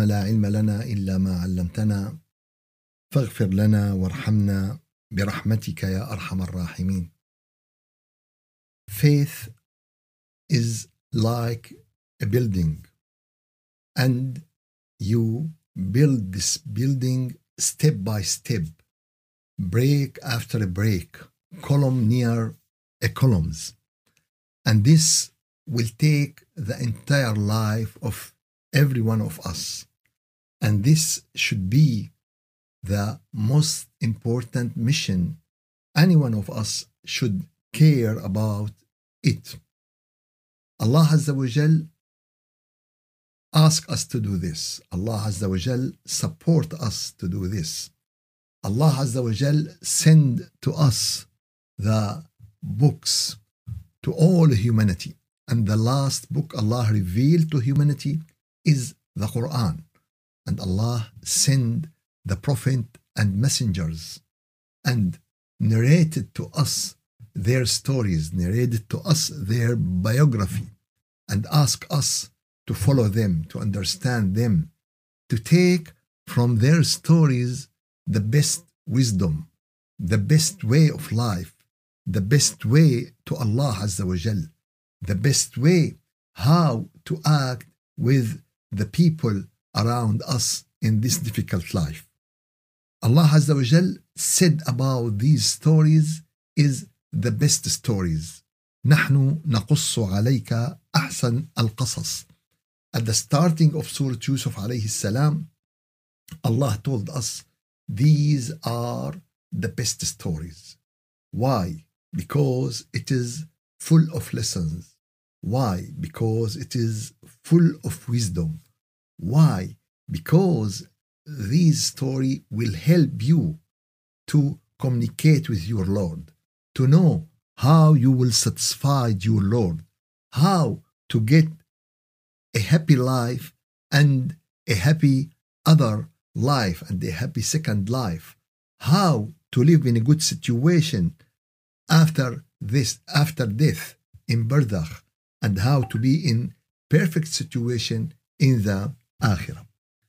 لا علم لنا إلا ما علمتنا فاغفر لنا وارحمنا برحمتك يا أرحم الراحمين. Faith is like a building, and you build this building step by step, break after a break, column near a columns, and this will take the entire life of every one of us, and this should be the most important mission any one of us should care about it. Allah Azza wa Jal ask us to do this. Allah Azza wa Jal support us to do this. Allah Azza wa Jal send to us the books to all humanity, and the last book Allah revealed to humanity is the Quran, and Allah send the prophet and messengers and narrated to us their stories, narrated to us their biography, and ask us to follow them, to understand them, to take from their stories the best wisdom, the best way of life, the best way to Allah Azza wa Jal, the best way how to act with the people around us in this difficult life. Allah Azza wa Jal said about these stories is the best stories. نحن نقص عليك أحسن القصص. At the starting of Surah Yusuf alayhi salam, Allah told us these are the best stories. Why? Because it is full of lessons. Why? Because it is full of wisdom. Why? Because this story will help you to communicate with your Lord, to know how you will satisfy your Lord, how to get a happy life and a happy other life and a happy second life, how to live in a good situation after death in barzakh, and how to be in perfect situation in the akhirah.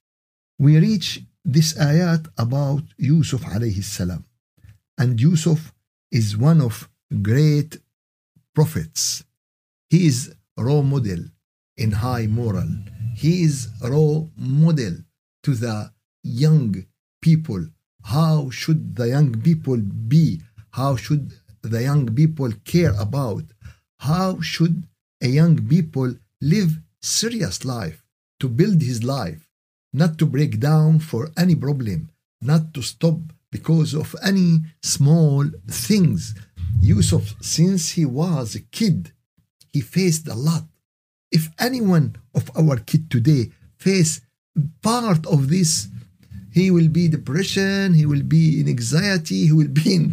We reach this ayat about Yusuf alayhi salam, and Yusuf is one of great prophets. He is role model in high moral. He is role model to the young people. How should the young people be? How should the young people care about? How should a young people live serious life, to build his life, not to break down for any problem, not to stop because of any small things. Yusuf, since he was a kid, he faced a lot. If any one of our kid today face part of this, he will be depression, he will be in anxiety, he will be in,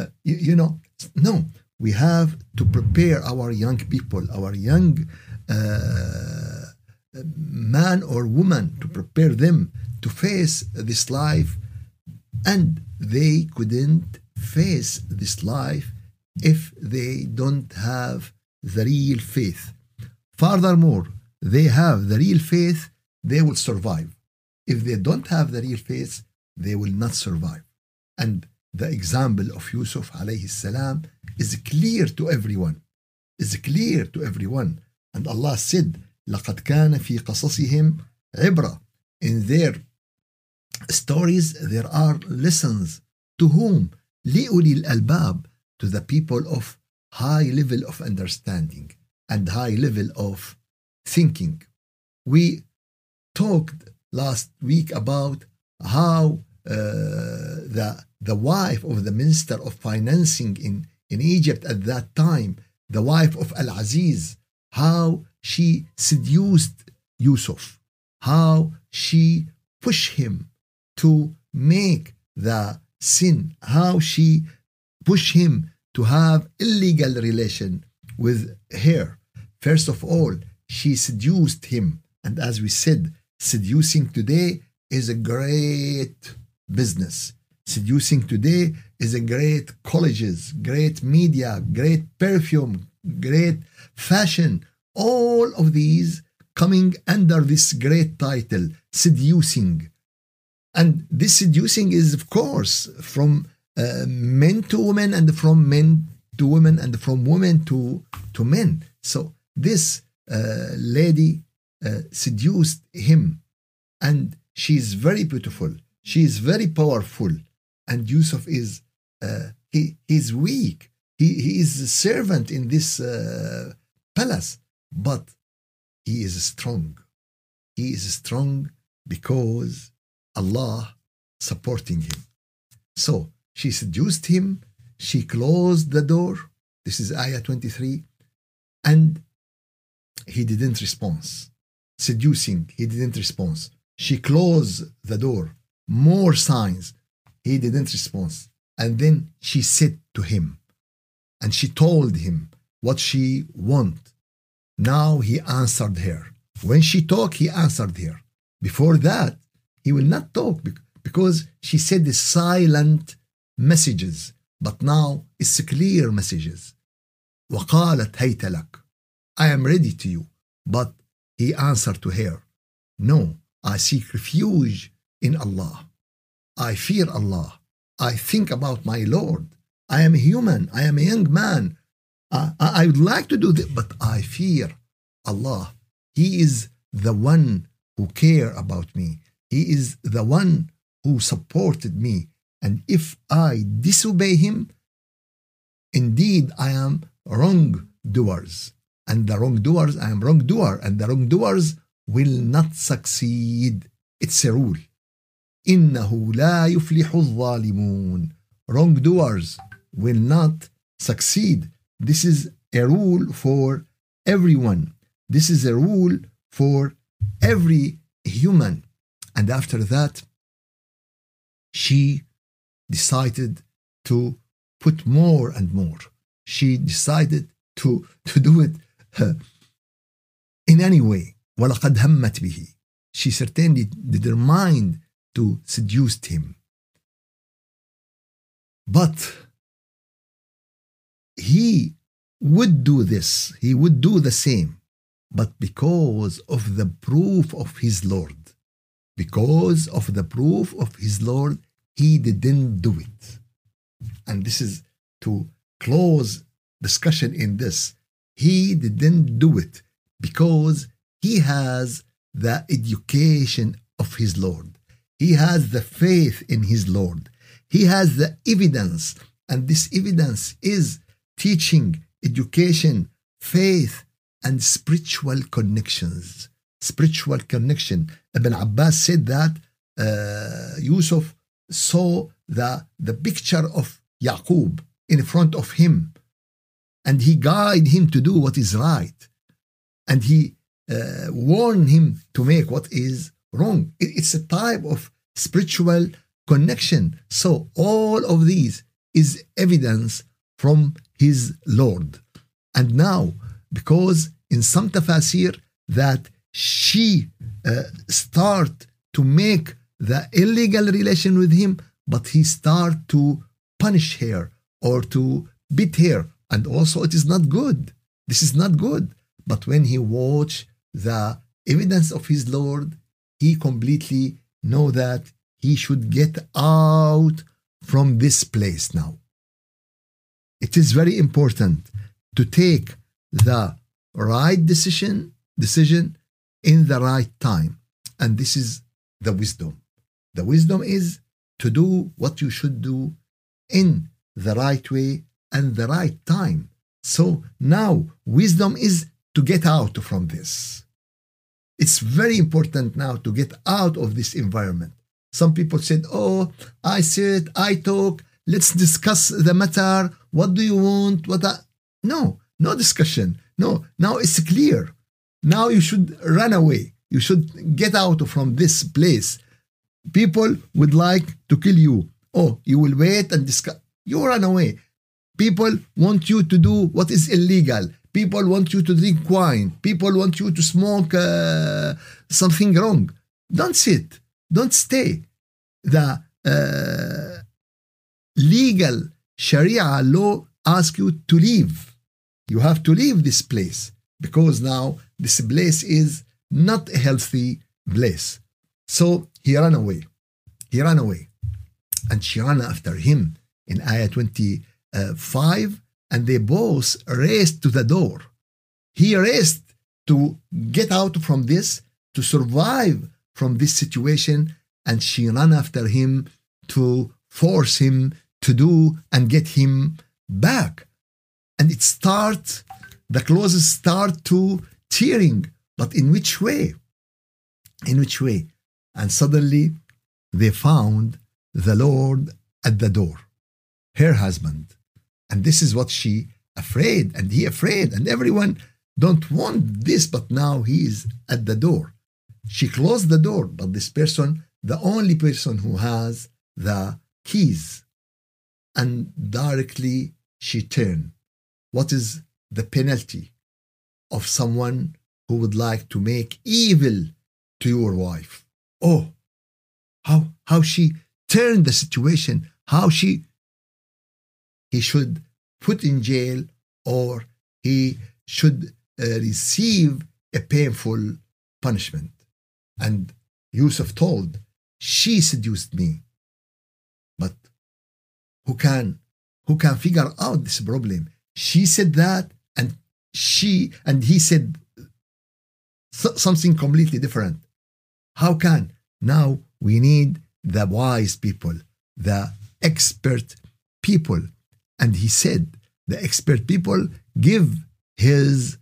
no. We have to prepare our young people, our young man or woman, to prepare them to face this life, and they couldn't face this life if they don't have the real faith. Furthermore, they have the real faith, they will survive. If they don't have the real faith, they will not survive. And the example of Yusuf alayhi salam is clear to everyone. And Allah said, لَقَدْ كَانَ فِي قَصَصِهِمْ عِبْرَةٌ. In their stories, there are lessons. To whom? لِأُولِي الْأَلْبَابِ. To the people of high level of understanding and high level of thinking. We talked last week about how the wife of the minister of financing in Egypt at that time, the wife of Al-Aziz, how she seduced Yusuf, how she pushed him to make the sin, how she pushed him to have illegal relation with her. First of all, she seduced him. And as we said, seducing today is a great business. Seducing today is a great colleges, great media, great perfume, great fashion. All of these coming under this great title, seducing. And this seducing is, of course, from men to women, and from men to women, and from women to men. So this lady seduced him, and she is very beautiful. She is very powerful. And Yusuf is he is weak. He is a servant in this palace, but he is strong. He is strong because Allah supporting him. So she seduced him. She closed the door. This is Ayah 23. And he didn't respond. Seducing, he didn't respond. She closed the door. More signs. He didn't respond. And then she said to him, and she told him what she want. Now he answered her. When she talked, he answered her. Before that, he will not talk because she said the silent messages. But now it's clear messages. وقالت هيت لك. I am ready to you. But he answered to her, no, I seek refuge in Allah. I fear Allah. I think about my Lord. I am a human. I am a young man. I would like to do this, but I fear Allah. He is the one who care about me. He is the one who supported me. And if I disobey him, indeed I am wrongdoers. And the wrongdoers, I am wrongdoer. And the wrongdoers will not succeed. It's a rule. إنه لا يفلح الظالمون. Wrongdoers will not succeed. This is a rule for everyone. This is a rule for every human. And after that, she decided to put more and more. She decided to do it in any way. وَلَقَدْ هَمَّتْ بِهِ. She certainly determined to seduce him. But he would do this. He would do the same. But because of the proof of his Lord, because of the proof of his Lord, he didn't do it. And this is to close discussion in this. He didn't do it because he has the education of his Lord. He has the faith in his Lord. He has the evidence, and this evidence is teaching, education, faith, and spiritual connections. Spiritual connection. Ibn Abbas said that Yusuf saw the picture of Yaqub in front of him, and he guided him to do what is right, and he warned him to make what is wrong. It's a type of spiritual connection. So all of these is evidence from his Lord. And now, because in some tafasir that she start to make the illegal relation with him, but he start to punish her or to beat her, and also it is not good. This is not good. But when he watched the evidence of his Lord, he completely know that he should get out from this place now. It is very important to take the right decision in the right time. And this is the wisdom. The wisdom is to do what you should do in the right way and the right time. So now wisdom is to get out from this. It's very important now to get out of this environment. Some people said, oh, I sit, I talk, let's discuss the matter. What do you want? No discussion. No, now it's clear. Now you should run away. You should get out from this place. People would like to kill you. Oh, you will wait and discuss. You run away. People want you to do what is illegal. People want you to drink wine. People want you to smoke something wrong. Don't sit. Don't stay. The legal Sharia law asks you to leave. You have to leave this place because now this place is not a healthy place. So he ran away. He ran away. And she ran after him in ayah 25. And they both raced to the door. He raced to get out from this, to survive from this situation. And she ran after him to force him to do and get him back. And the clothes start to tearing. But in which way? In which way? And suddenly they found the Lord at the door, her husband. And this is what she afraid, and he afraid, and everyone don't want this, but now he is at the door. She closed the door, but this person, the only person who has the keys, and directly she turned. What is the penalty of someone who would like to make evil to your wife? Oh, how she turned the situation, he should put in jail, or he should receive a painful punishment. And Yusuf told, she seduced me. But who can figure out this problem? She said that, and he said something completely different. How can? Now we need the wise people, the expert people. And he said, the expert people give his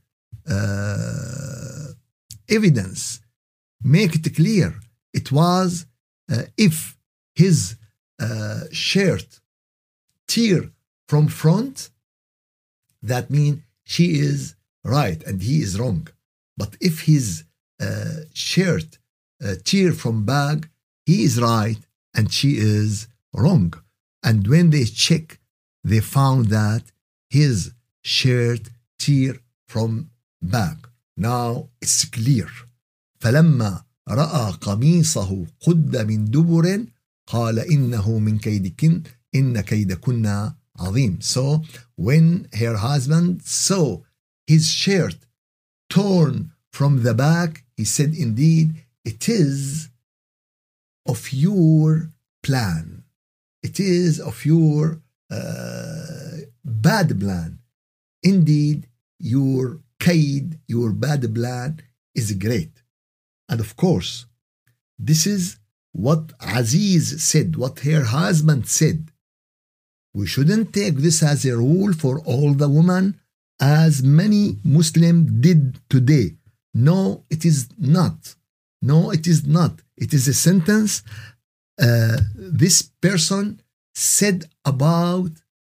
evidence, make it clear. It was if his shirt tear from front, that means she is right and he is wrong. But if his shirt tear from back, he is right and she is wrong. And when they check, they found that his shirt tear from back. Now it's clear. فلما رأى قميصه قد من دبر قال إنه من كيدكن إن كيدكن عظيم. So when her husband saw his shirt torn from the back, he said, indeed, it is of your plan. It is of your bad plan. Indeed, your kaid, your bad plan is great. And of course, this is what Aziz said, what her husband said. We shouldn't take this as a rule for all the women, as many Muslims did today. No, it is not. No, it is not. It is a sentence this person said about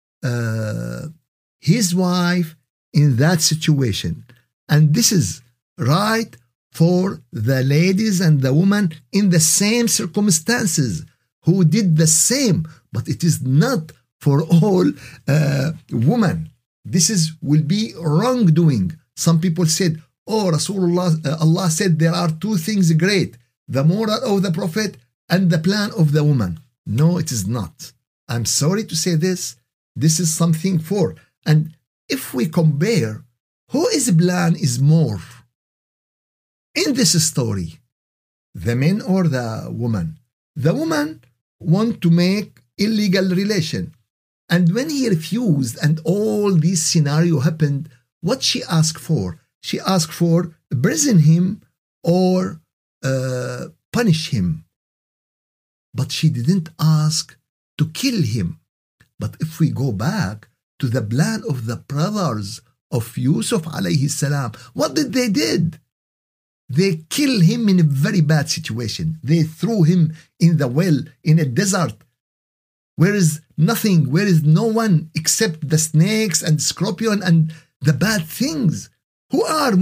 his wife in that situation. And this is right for the ladies and the women in the same circumstances who did the same, but it is not for all women. This will be wrongdoing. Some people said, oh, Rasulullah, Allah said there are two things great, the moral of the Prophet and the plan of the woman. No, it is not. I'm sorry to say this. This is something for. And if we compare, whose plan is more in this story, the man or the woman? The woman want to make illegal relation. And when he refused and all this scenario happened, what she asked for? She asked for imprison him or punish him. But she didn't ask to kill him. But if we go back to the plan of the brothers of Yusuf alayhi salam, what did they did? They killed him in a very bad situation. They threw him in the well, in a desert, where is nothing, where is no one except the snakes and scorpion and the bad things. Who has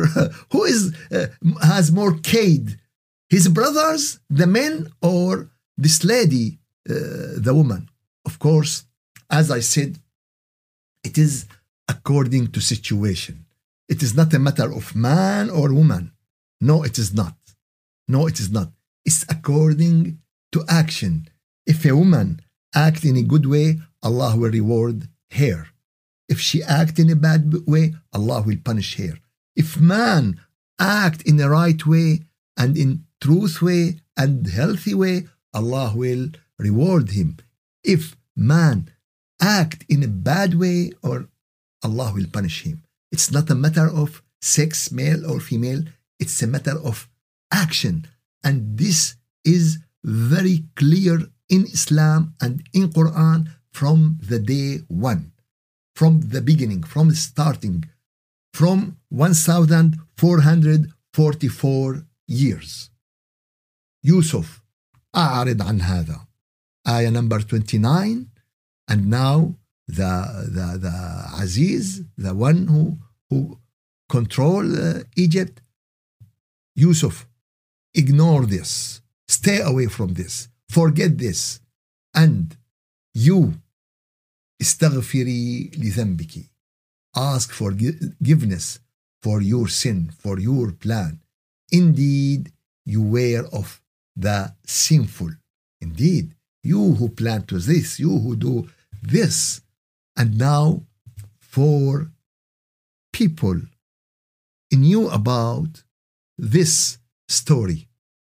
more kaid? His brothers, the men, or this lady, the woman? Of course, as I said, it is according to situation. It is not a matter of man or woman. No, it is not. No, it is not. It's according to action. If a woman act in a good way, Allah will reward her. If she act in a bad way, Allah will punish her. If man act in the right way and in truth way and healthy way, Allah will reward him. If man act in a bad way, or Allah will punish him. It's not a matter of sex, male or female. It's a matter of action. And this is very clear in Islam and in Quran from the day one, from the beginning, from the starting, from 1444 years. Yusuf, أعرض عن هذا. Ayah number 29. And now the Aziz, the one who control Egypt, Yusuf, ignore this, stay away from this, forget this, and you استغفري لذنبك, ask forgiveness for your sin, for your plan. Indeed, you were of the sinful. Indeed, you who plan to this, you who do this. And now for people knew about this story,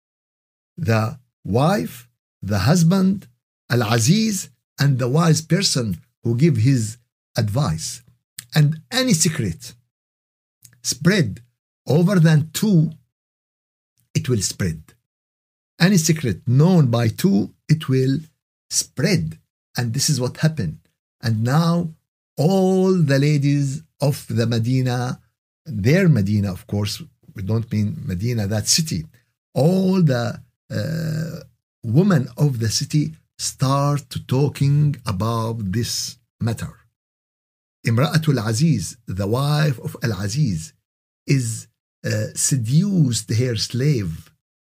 the wife, the husband, Al-Aziz, and the wise person who give his advice. And any secret spread over than two, it will spread. Any secret known by two, it will spread. And this is what happened. And now all the ladies of the Medina, their Medina, of course, we don't mean Medina, that city, all the women of the city start talking about this matter. Imra'atul Aziz, the wife of Al-Aziz, is seduced her slave.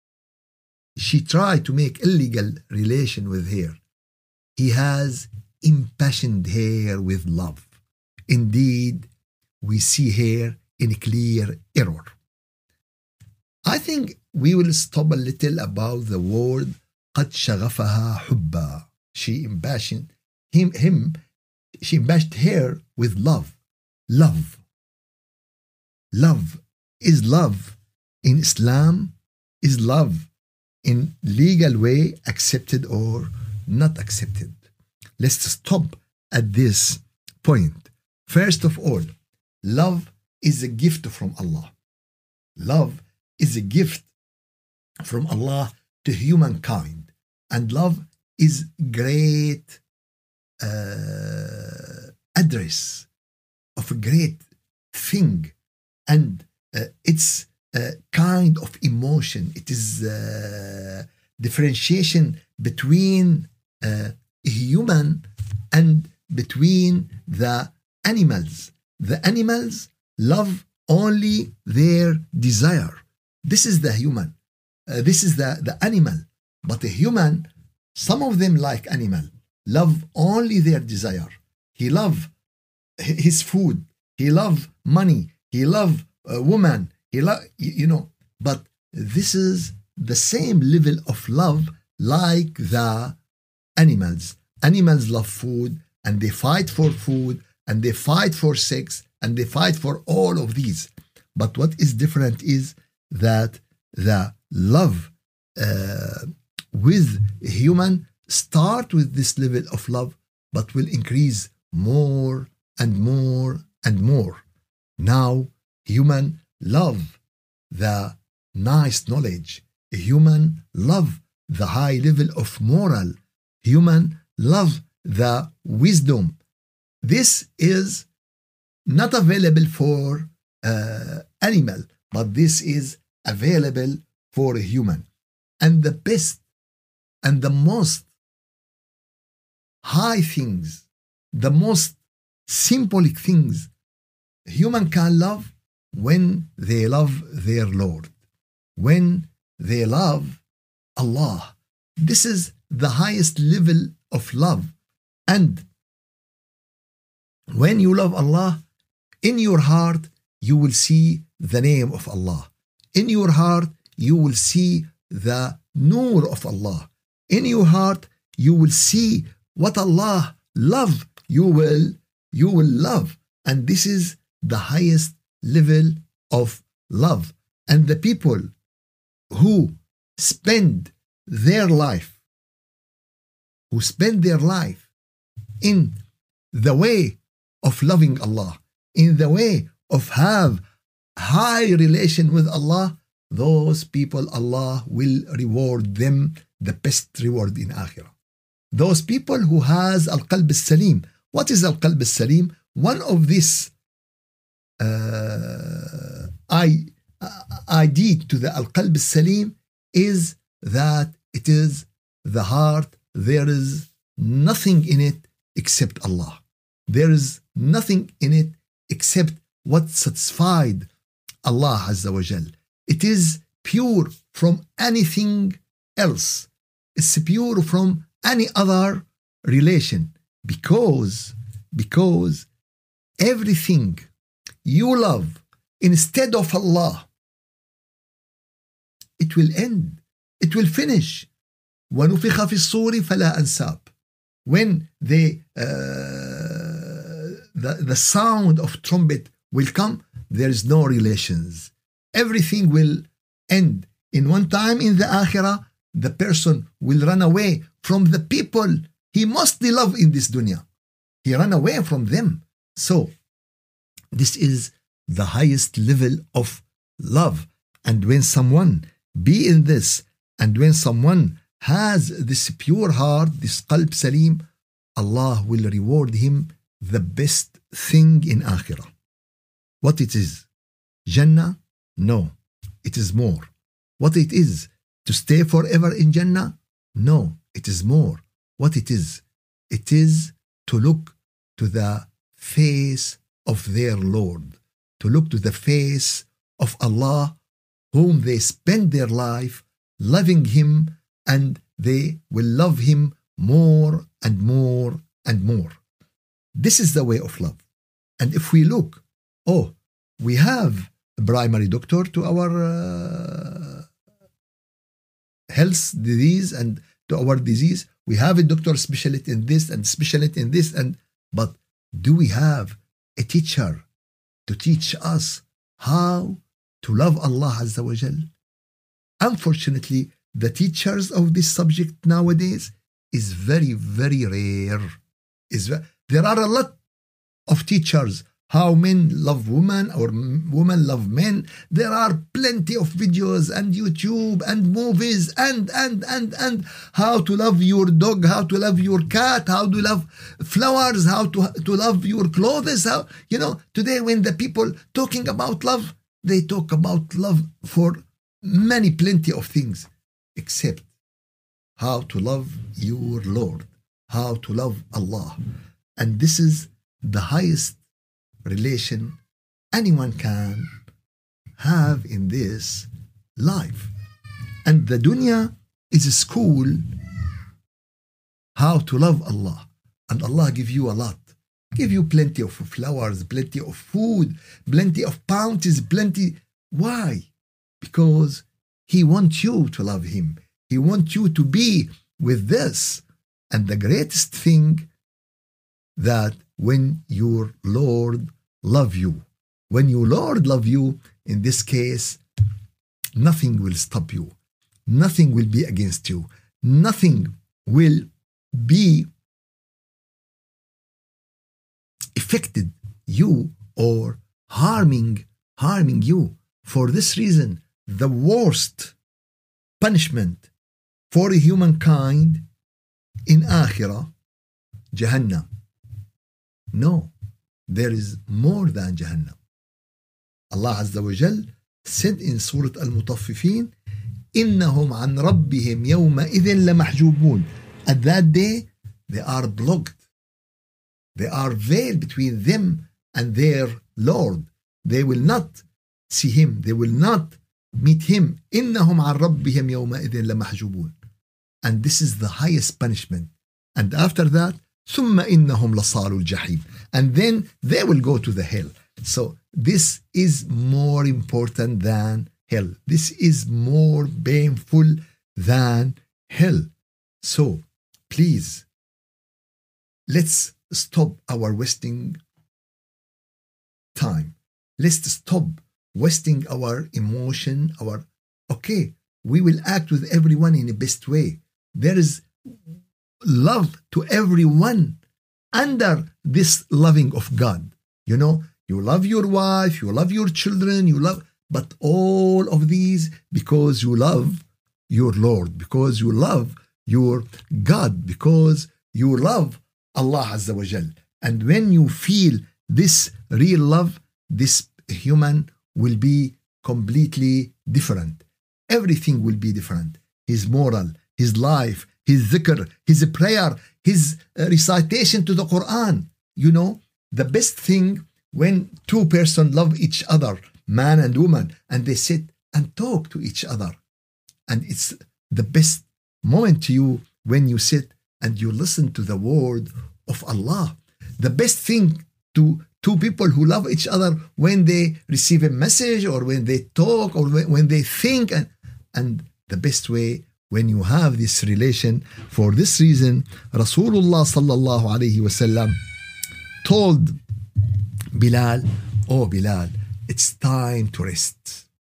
She tried to make illegal relation with her. He has impassioned her with love. Indeed, we see her in clear error. I think we will stop a little about the word قد شغفها حبا. She impassioned him. She impassioned her with love. Love. Love. Is love in Islam? Is love in legal way accepted or not accepted? Let's stop at this point. First of all, love is a gift from Allah. Love is a gift from Allah to humankind. And love is great address of a great thing. And it's a kind of emotion. It is differentiation between human and between the animals. The animals love only their desire. This is the human. This is the animal. But the human, some of them like animal, love only their desire. He love his food. He love money. He love a woman. He love, but this is the same level of love like the animals. Animals love food and they fight for food and they fight for sex and they fight for all of these. But what is different is that the love with human start with this level of love, but will increase more and more and more. Now, human love the nice knowledge. Human love the high level of moral. Human love the wisdom. This is not available for animal, but this is available for a human. And the best and the most high things, the most symbolic things human can love when they love their Lord, when they love Allah. This is the highest level of love. And when you love Allah, in your heart you will see the name of Allah. In your heart you will see the nur of Allah. In your heart you will see what Allah love. You will love. And this is the highest level of love. And the people who spend their life, who spend their life in the way of loving Allah, in the way of have high relation with Allah, those people, Allah will reward them the best reward in Akhirah. Those people who has al-qalb al-salim. What is al-qalb al-salim? One of this ID to the al-qalb al-salim is that it is the heart. There is nothing in it except Allah. There is nothing in it except what satisfied Allah Azza wa Jal. It is pure from anything else. It's pure from any other relation because everything you love instead of Allah, it will end. It will finish. وَنُفِخَ فِي الصُّورِ فَلَا أَنْسَابٍ. When the sound of trumpet will come, there is no relations. Everything will end. In one time in the Akhirah, the person will run away from the people he mostly love in this dunya. He run away from them. So, this is the highest level of love. And when someone be in this, and when someone has this pure heart, this qalb salim, Allah will reward him the best thing in Akhirah. What it is? Jannah? No, it is more. What it is? To stay forever in Jannah? No, it is more. What it is? It is to look to the face of their Lord, to look to the face of Allah, whom they spend their life loving Him, and they will love Him more and more and more. This is the way of love. And if we look, we have a primary doctor to our health disease and to our disease. We have a doctor specialist in this and specialist in this, but do we have a teacher to teach us how to love Allah Azza wa Jal? Unfortunately, the teachers of this subject nowadays is very, very rare. There are a lot of teachers, how men love women or women love men. There are plenty of videos and YouTube and movies and how to love your dog, how to love your cat, how to love flowers, how to love your clothes. How, today when the people talking about love, they talk about love for plenty of things, except how to love your Lord, how to love Allah. And this is the highest relation anyone can have in this life. And the dunya is a school how to love Allah. And Allah give you a lot. Give you plenty of flowers, plenty of food, plenty of bounties, plenty. Why? Because He wants you to love Him. He wants you to be with this. And the greatest thing, that when your Lord love you, when your Lord love you, in this case, nothing will stop you. Nothing will be against you. Nothing will be affected you or harming you. For this reason, the worst punishment for humankind in Akhirah, Jahannam. No, there is more than Jahannam. Allah Azza wa Jal said in Surah Al-Mutaffifin, إِنَّهُمْ عَنْ رَبِّهِمْ يَوْمَئِذٍ لَمَحْجُوبُونَ. At that day, they are blocked. They are veiled between them and their Lord. They will not see Him. They will not meet Him. إِنَّهُمْ عَنْ رَبِّهِمْ يَوْمَئِذٍ لَمَحْجُوبُونَ. And this is the highest punishment. And after that, ثم إنهم لصالوا الجحيم. And then they will go to the hell. So this is more important than hell. This is more painful than hell. So please, let's stop our wasting time. Let's stop wasting our emotion, we will act with everyone in the best way. There is love to everyone under this loving of God. You know, you love your wife, you love your children, but all of these because you love your Lord, because you love your God, because you love Allah Azza wa Jal. And when you feel this real love, this human will be completely different. Everything will be different. His moral, his life, his dhikr, his prayer, his recitation to the Quran. You know, the best thing when two persons love each other, man and woman, and they sit and talk to each other. And it's the best moment to you when you sit and you listen to the word of Allah. The best thing to two people who love each other when they receive a message or when they talk or when they think. And the best way when you have this relation. For this reason, Rasulullah sallallahu alayhi wasallam told Bilal, "Oh Bilal, it's time to rest.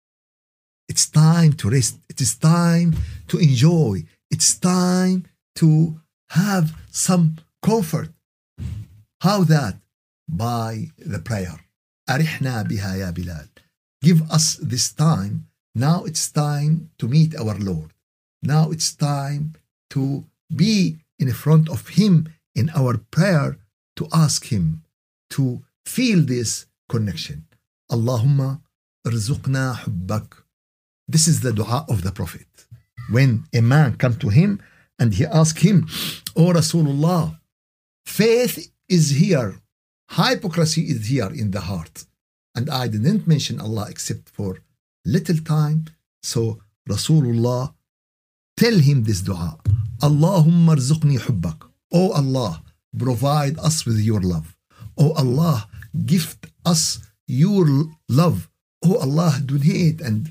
It's time to rest. It is time to enjoy. It's time to have some comfort." How that? By the prayer. أرحنا بها يا Bilal. Give us this time. Now it's time to meet our Lord. Now it's time to be in front of Him in our prayer, to ask Him to feel this connection. Allahumma irzuqna hubbak. This is the dua of the Prophet. When a man come to him and he ask him, "Oh Rasulullah, faith is here, hypocrisy is here in the heart, and I didn't mention Allah except for little time." So Rasulullah tell him this dua, "Allahumma irzuqni hubbak." Oh Allah, provide us with your love. Oh Allah, gift us your love. Oh Allah, donate and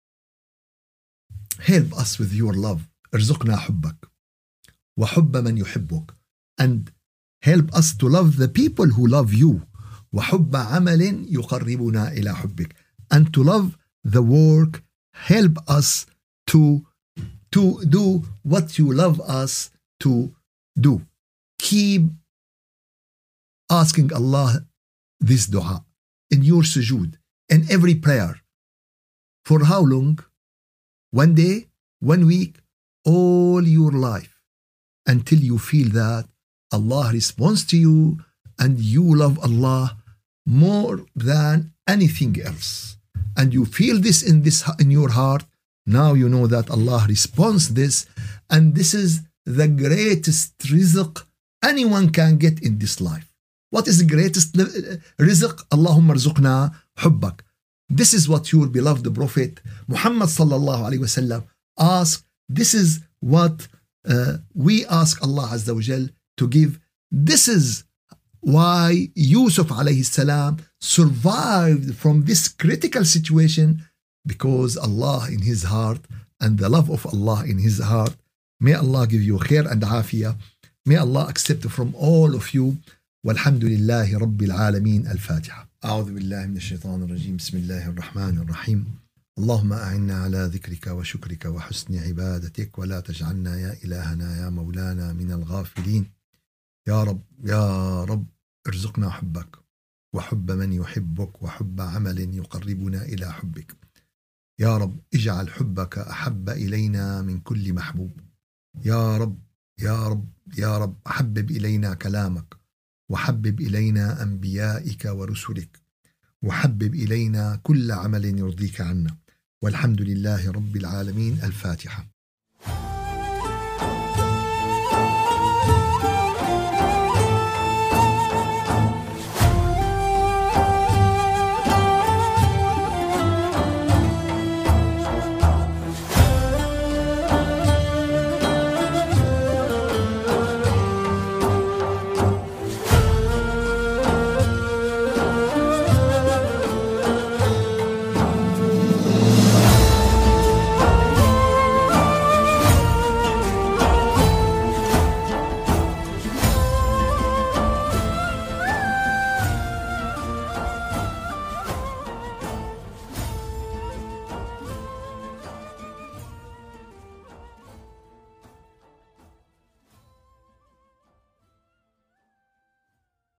help us with your love. ارزقنا حبك وحب من يحبك. And help us to love the people who love you. وحب عمل يقربنا إلى حبك. And to love the work, help us to do what you love us to do. Keep asking Allah this dua in your sujood, in every prayer. For how long? 1 day, 1 week, all your life, until you feel that Allah responds to you and you love Allah more than anything else. And you feel this in your heart. Now you know that Allah responds this, and this is the greatest rizq anyone can get in this life. What is the greatest rizq? Allahumma rzuqna hubbak. This is what your beloved Prophet Muhammad sallallahu alaihi wasallam asked. This is what we ask Allah Azza wa Jal to give. This is why Yusuf alayhi salam survived from this critical situation, because Allah in his heart and the love of Allah in his heart. May Allah give you khair and afiyah. May Allah accept from all of you. والحمد لله رب العالمين. الفاتحة. أعوذ بالله من الشيطان الرجيم. بسم الله الرحمن الرحيم. اللهم أعنا على ذكرك وشكرك وحسن عبادتك، ولا تجعلنا يا إلهنا يا مولانا من الغافلين. يا رب يا رب ارزقنا حبك وحب من يحبك وحب عمل يقربنا إلى حبك. يا رب اجعل حبك أحب إلينا من كل محبوب. يا رب يا رب يا رب حبب إلينا كلامك، وحبب إلينا أنبيائك ورسلك، وحبب إلينا كل عمل يرضيك عنا. والحمد لله رب العالمين. الفاتحة.